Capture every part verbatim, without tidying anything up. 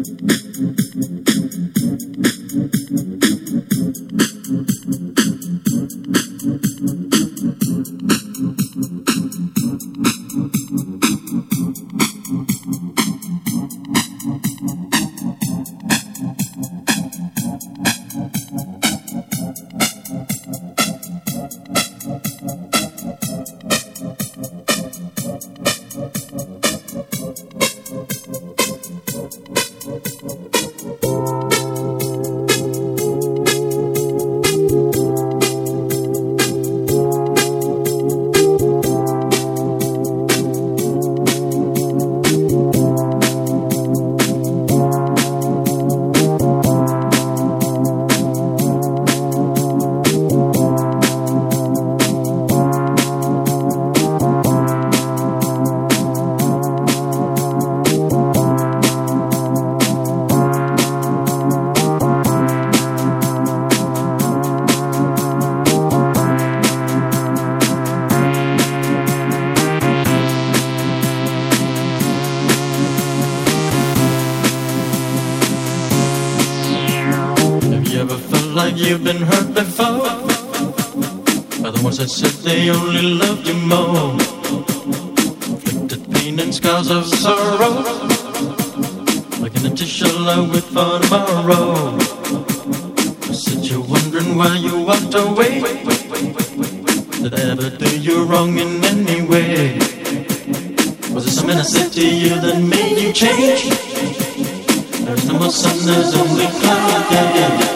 like you've been hurt before by the ones that said they only loved you more. Inflicted pain and scars of sorrow, like an empty shell I wait for tomorrow. I said you're wondering why you walked away. Did I ever do you wrong in any way? Was it something I said to you that made you change? There's no more sun, there's only cloud, yeah, yeah.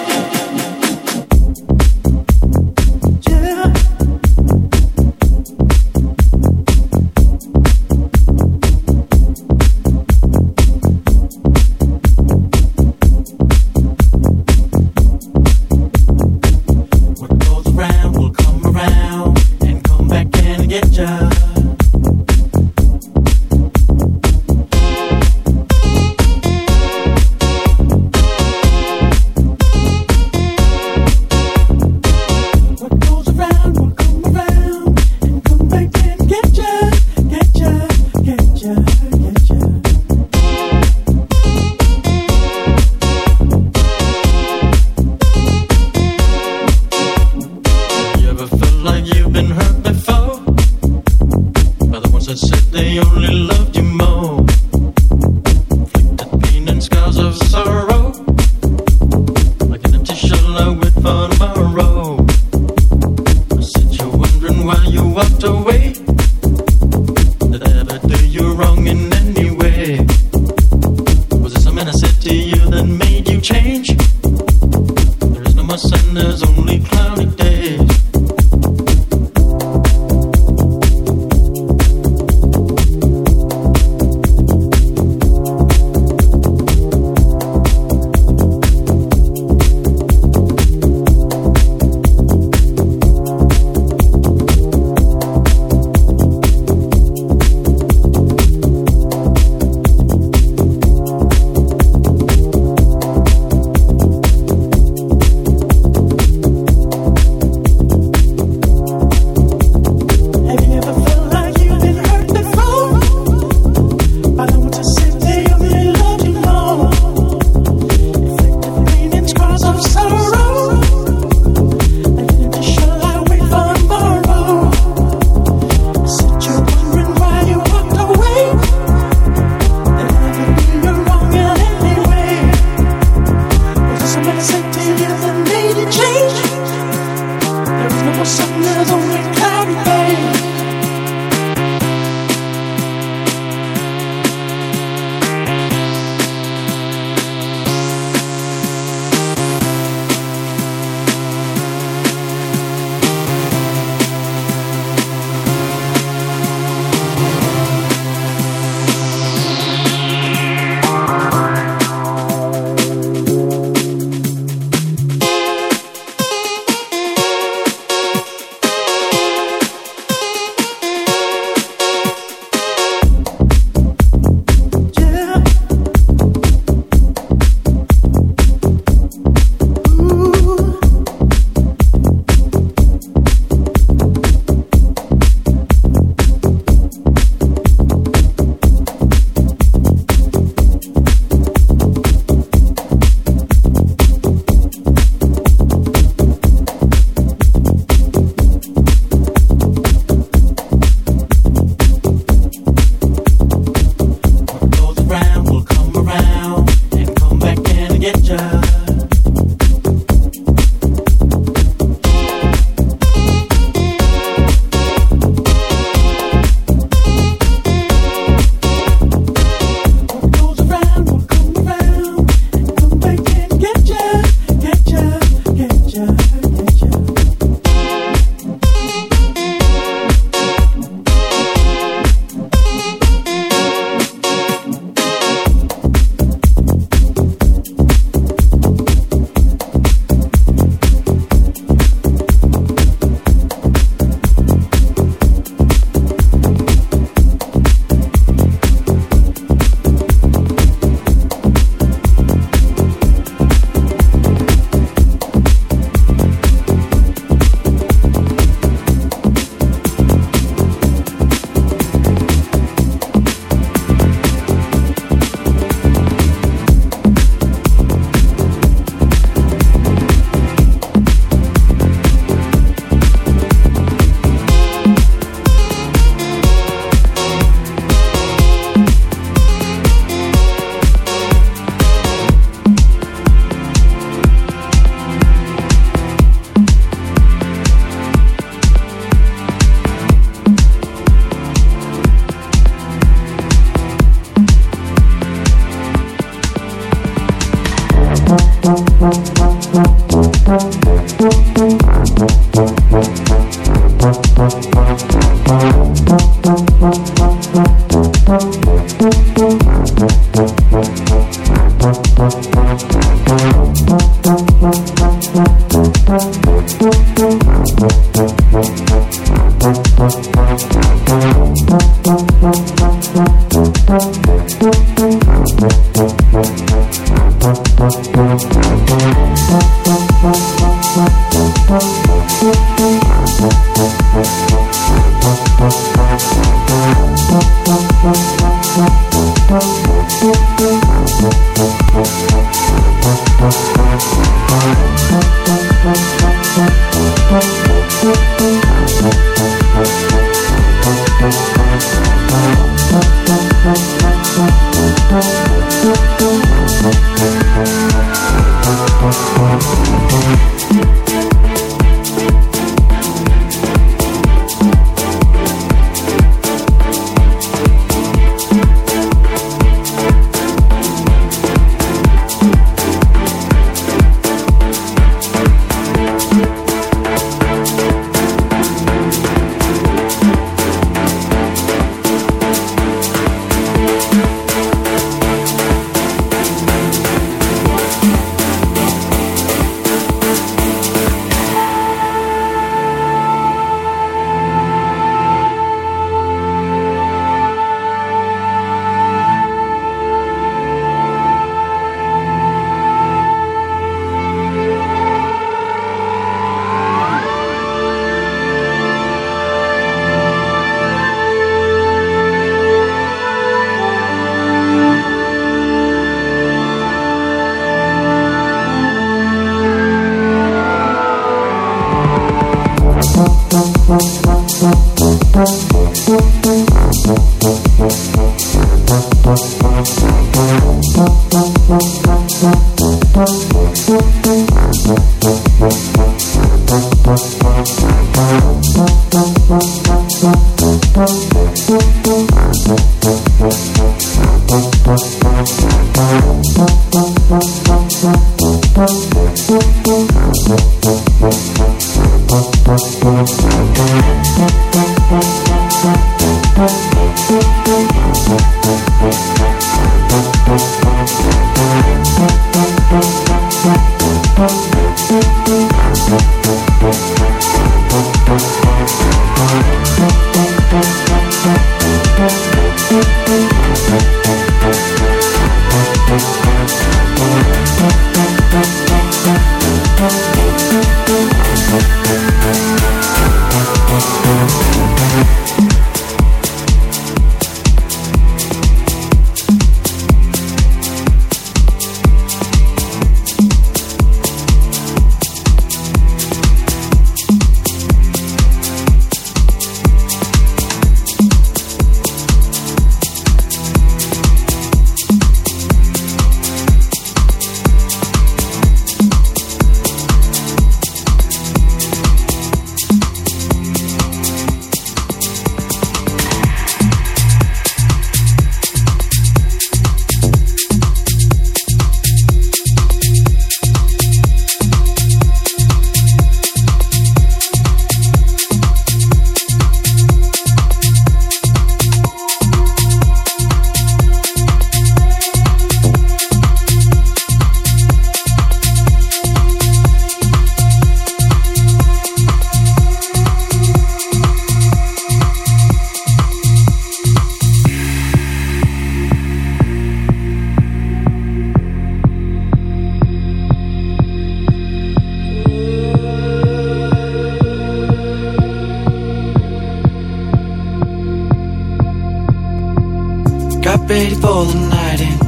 ready for the night in.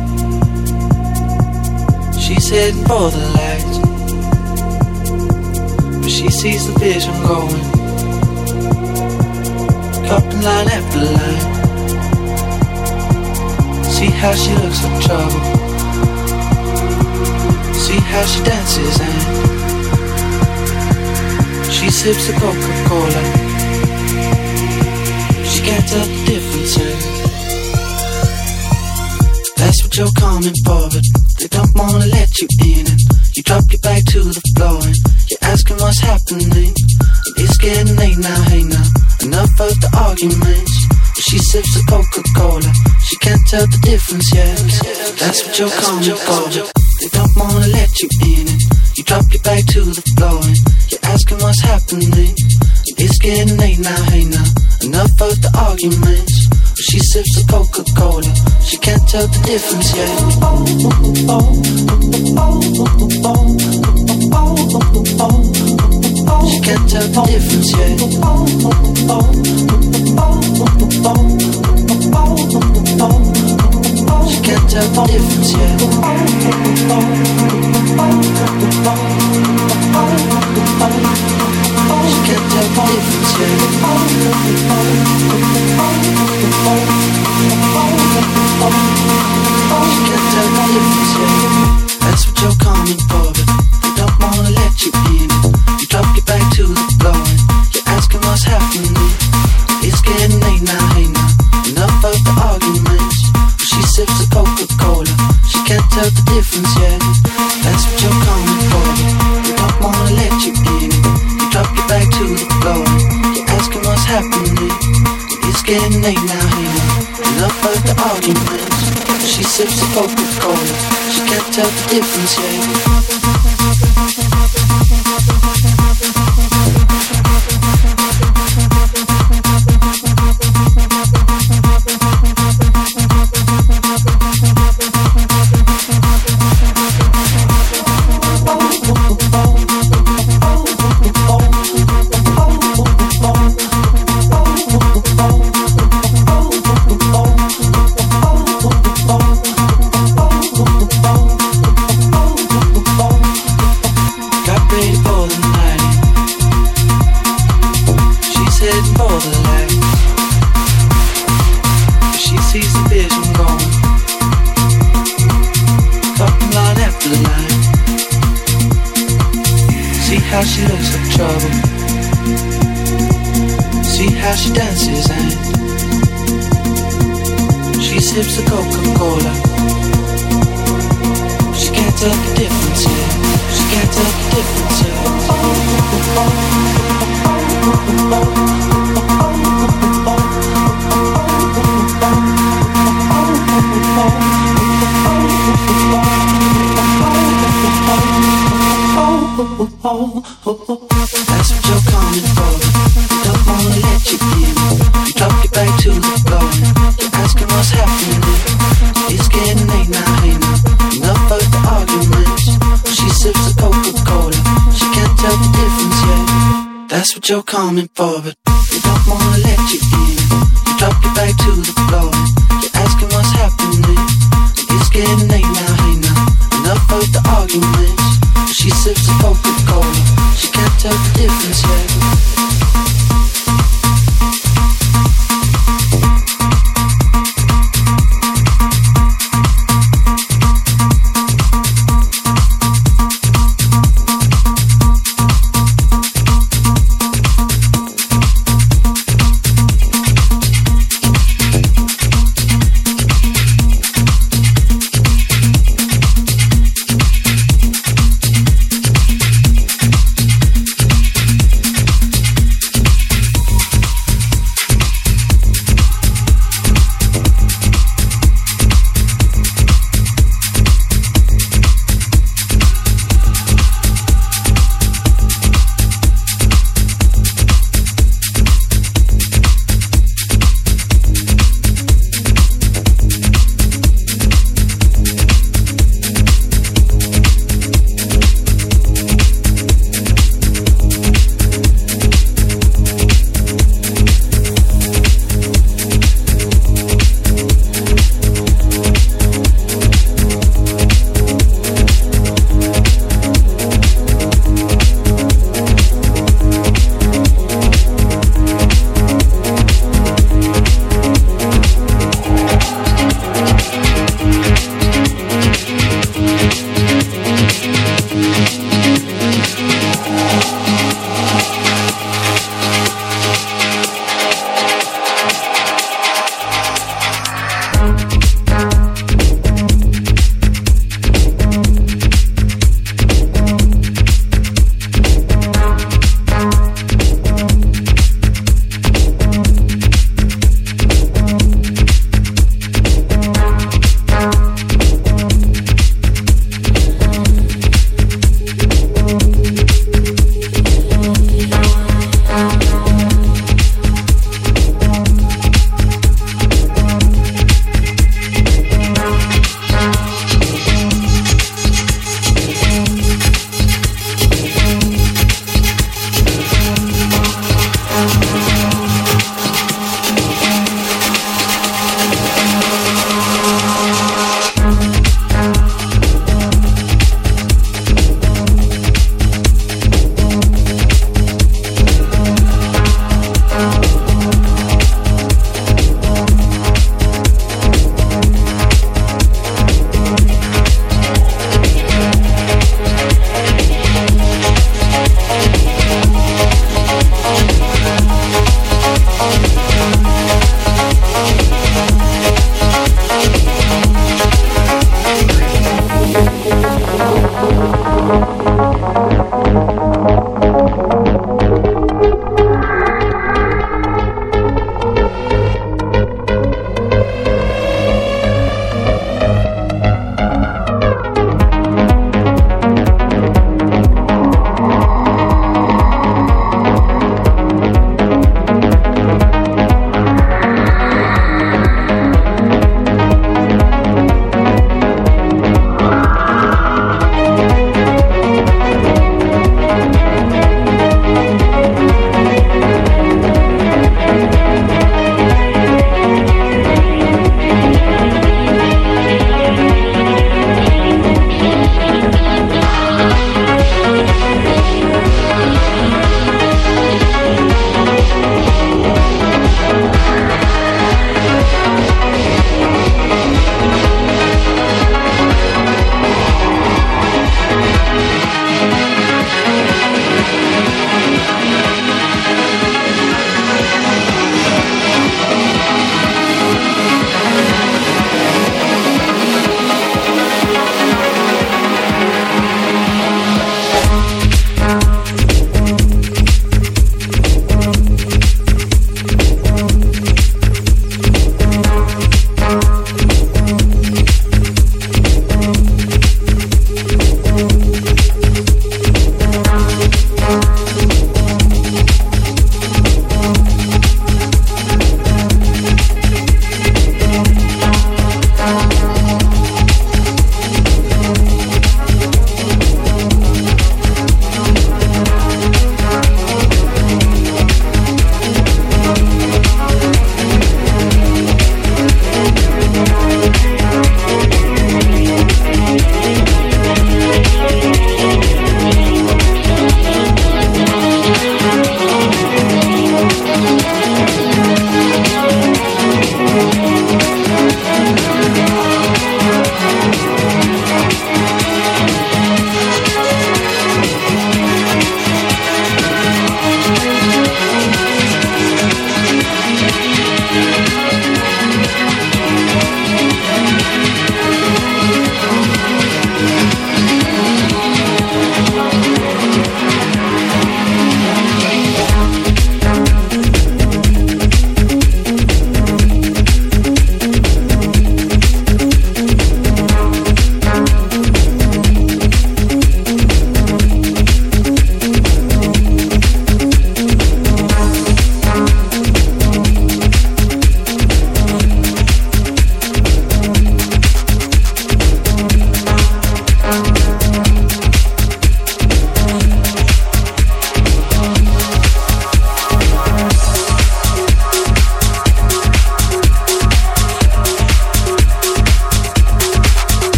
She's heading for the lights, but she sees the vision going, cupping line after line. See how she looks like trouble, see how she dances and she sips the Coca-Cola. She can't tell the difference. That's what you're coming for, but they don't wanna let you in. And you You drop your back to the floor and you're asking what's happening. It's getting late now, hey now, enough of the arguments. She sips a Coca-Cola, she can't tell the difference yet. That's what you're coming for. They don't wanna let you in it. You drop your back to the floor and you're asking what's happening. It's getting late now, hey now, enough of the arguments. She sips a Coca-Cola, she can't tell the difference yet. She can't tell the difference yet. She can't tell the difference yet. She can't tell the difference yet. She can't tell the difference yet. That's what you're coming for, but they don't wanna let you in it. You drop your back to the floor and you're asking what's happening. It's getting late now, hey now, enough of the arguments. She sips a Coca-Cola, she can't tell the difference yet. That's what you're coming for, but they don't wanna let you in it. You drop your back to the floor and you're asking what's happening. It's getting late now, hey now, enough of the arguments. She sips a Coca-Cola, she can't tell the difference yet. How she looks like trouble. See how she dances and she sips the Coca-Cola. She can't tell the difference yet. She can't tell the difference yet. That's what you're coming for. They don't wanna let you in. You drop your back to the floor and you're asking what's happening. It's getting late now, hey now, enough of the arguments. She sips a Coca-Cola, she can't tell the difference yet. That's what you're coming for, but they don't wanna let you in. You drop your back to the floor and you're asking what's happening. It's getting late now, hey now, enough of the arguments. She sips a Coca-Cola, she can't tell the difference yet.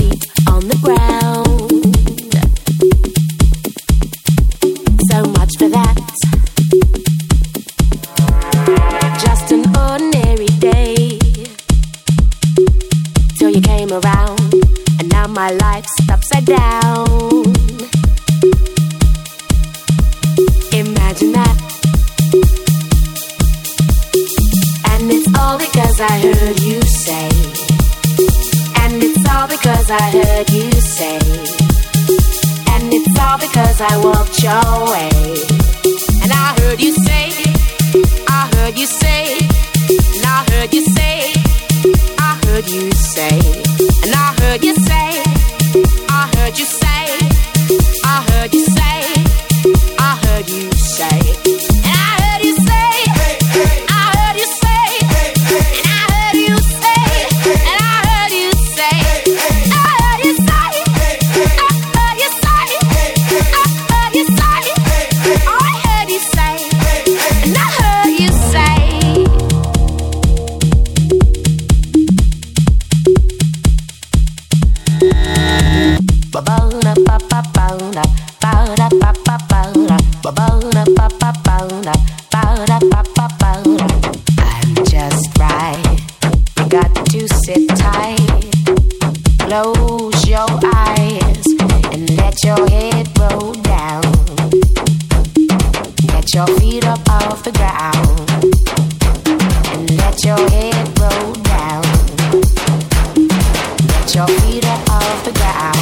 sleep on the ground. So much for that. Just an ordinary day till you came around, and now my life's upside down. Imagine that. And it's all because I heard you say. And it's all because I heard you say. And it's all because I walked your way. And I heard you say, I heard you say, and I heard you say, I heard you say, and I heard you say, I heard you say, I heard you say, I heard you say, and I heard you say, I heard you say, and I heard you say, and I heard you say, I heard you say, I heard you say, I heard you say, I heard you say, and I heard you say. Ba ba da ba ba ba da ba da ba ba ba da ba ba da ba ba ba da ba da ba ba ba da. I'm just right. You got to sit tight. Close your eyes and let your head roll down. Get your feet up off the ground and let your head roll down. Get your feet up off the ground.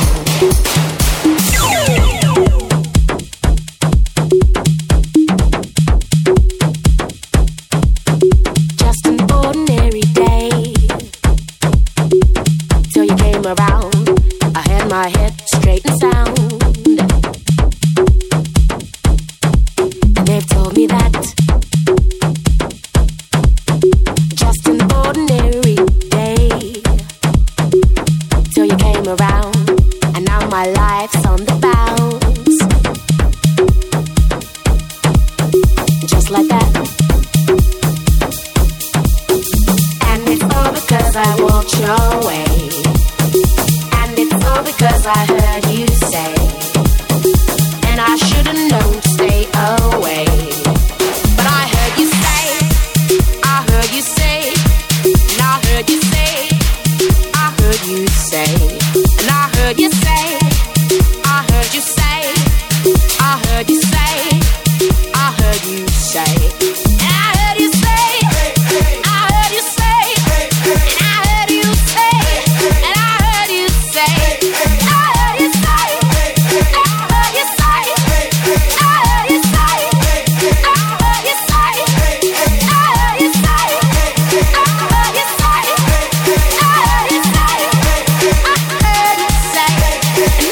Just an ordinary day till you came around. I had my head straight and sound. And they've told me that just an ordinary day till you came around, and now my life's on the bounce. Just like that. And it's all because I walked your way. And it's all because I heard you say. And I should've known to stay away. But I heard you say, I heard you say, and I heard you say, I heard you say, and I heard you say, I heard you say, I heard you say, I heard you say, and I heard you say, I heard you say, and I heard you say, and I heard you say, I heard you say, I heard you say, I heard you say, I heard you say, I heard you say, I heard you say, I heard you say, I heard you say, I heard you say, and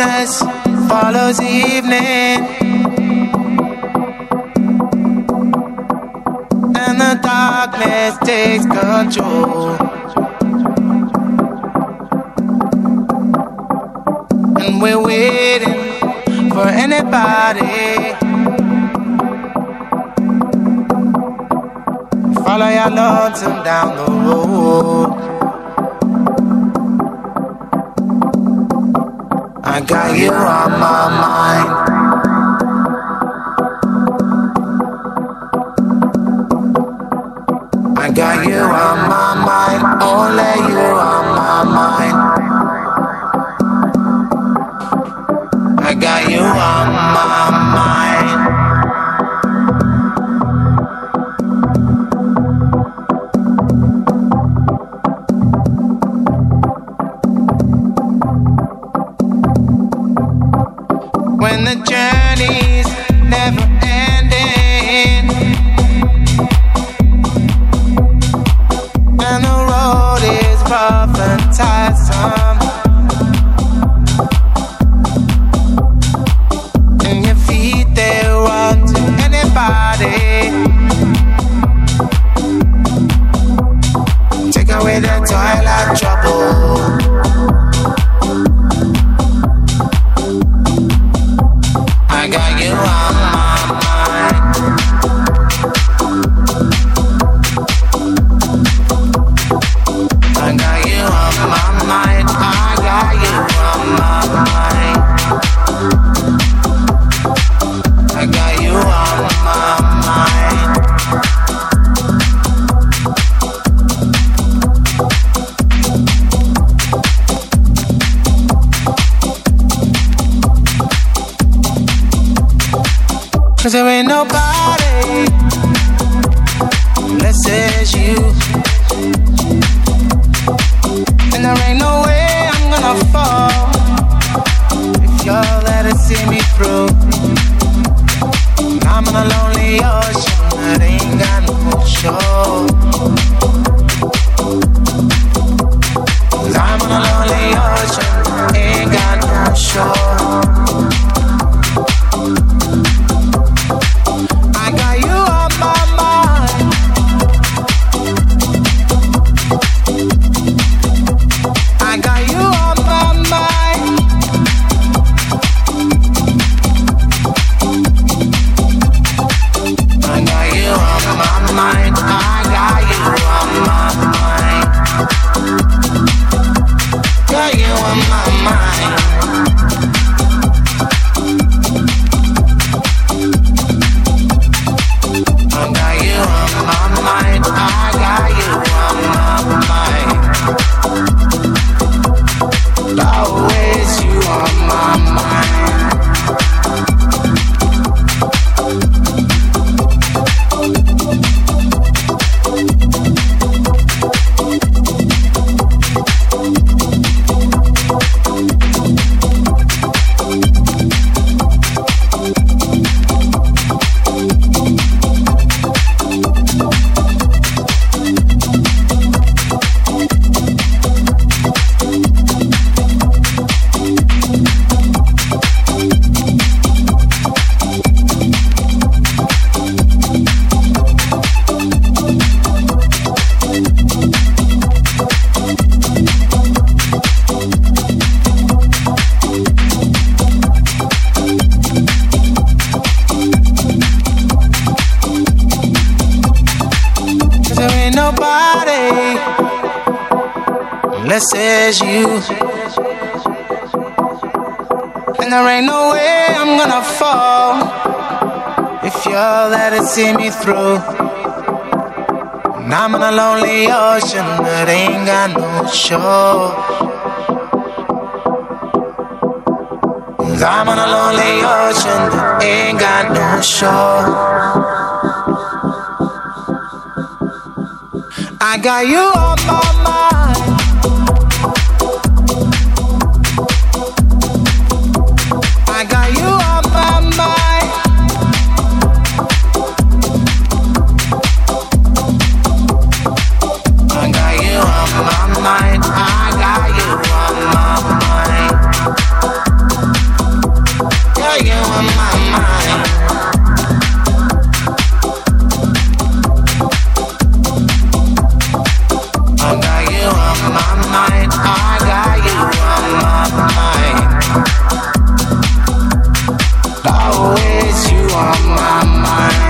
darkness follows evening, and the darkness takes control, and we're waiting for anybody. Follow your lonesome down the road. I got you on my mind. I got you on my mind. Only you on my mind. I got you on my mind. When the journey's never ending, and the road is rough and tiresome, and your feet they run to anybody. Take away the toilet trouble. I got you on my mind. I got you on my mind. I got you on my mind. I got you on my mind. Cause there ain't nobody unless it's you, and there ain't no way I'm gonna fall if you're there to see me through. I'm on a lonely ocean that ain't got no shore. Cause I'm on a lonely ocean that ain't got no shore. Unless it's you, and there ain't no way I'm gonna fall if you're there to see me through. And I'm on a lonely ocean that ain't got no shore. Cause I'm on a lonely ocean that ain't got no shore. I got you on my mind. I got you on my mind. I got you on my mind. I got you on my mind. on my mind. I got you on my mind. I got you on my mind. Always you on my mind.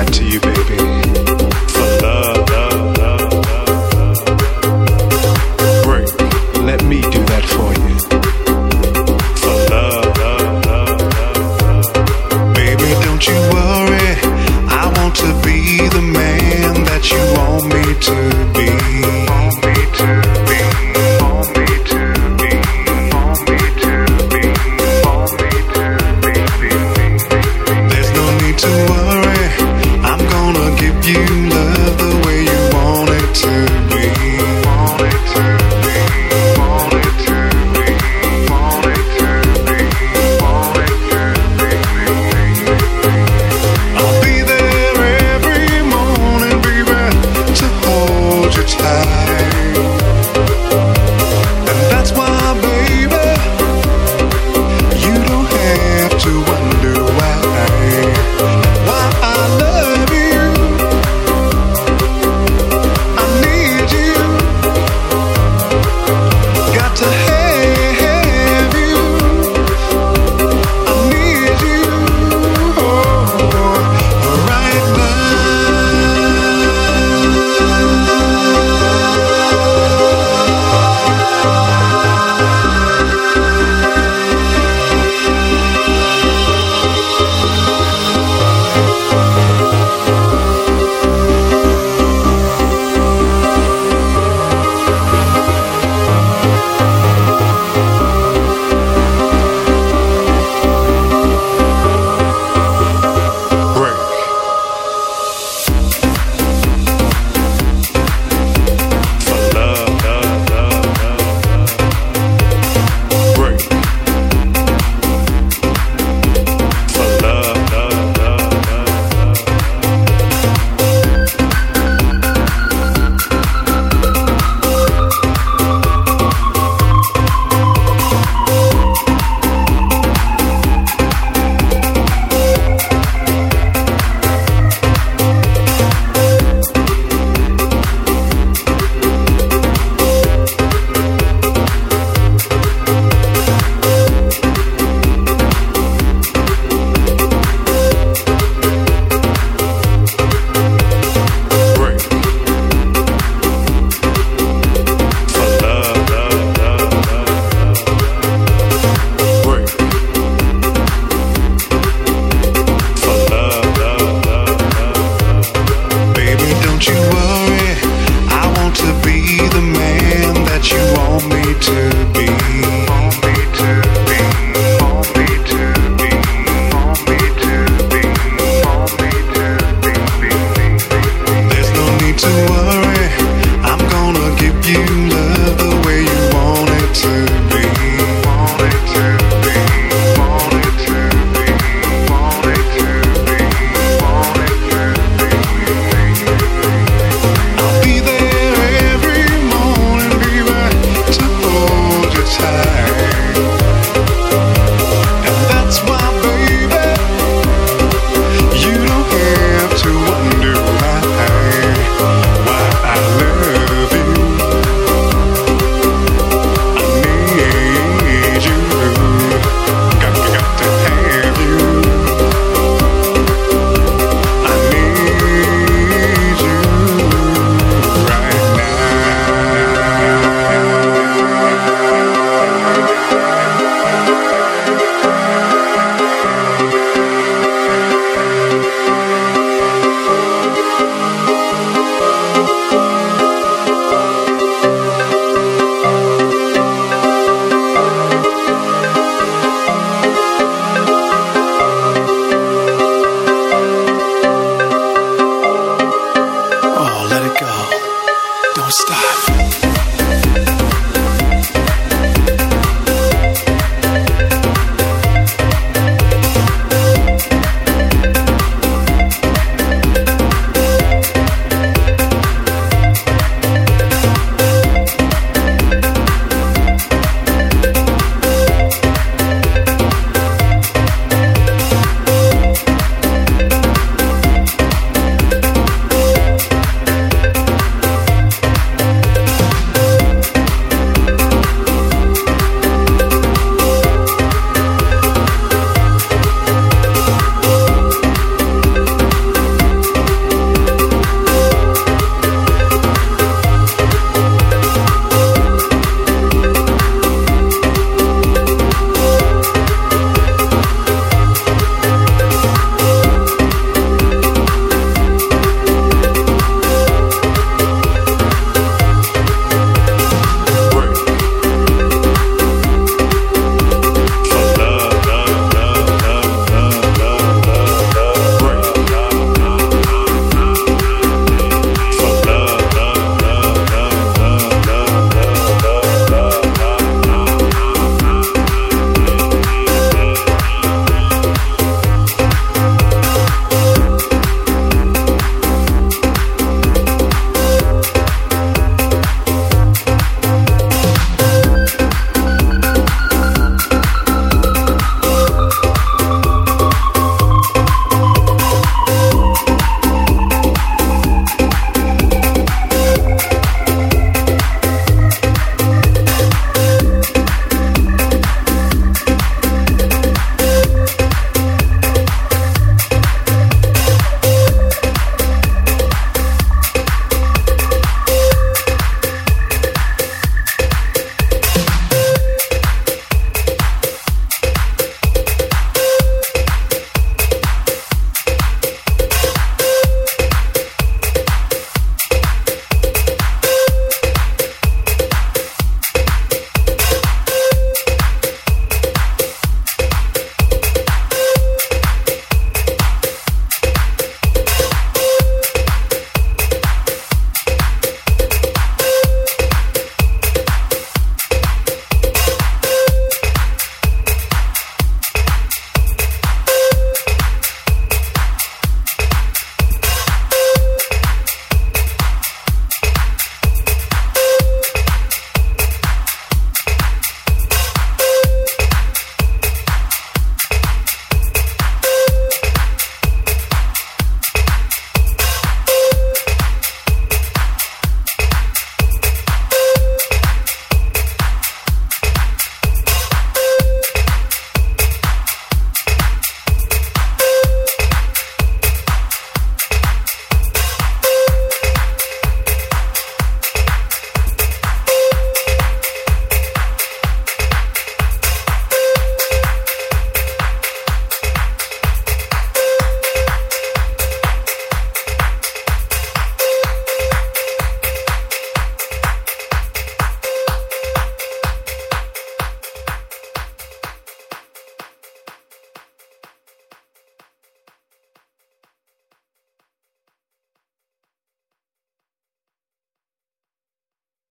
that to you, baby. For love, love, love, love, love. Break, let me do that for you. For love, love, love, love, love. Baby, don't you worry. I want to be the man that you want me to be.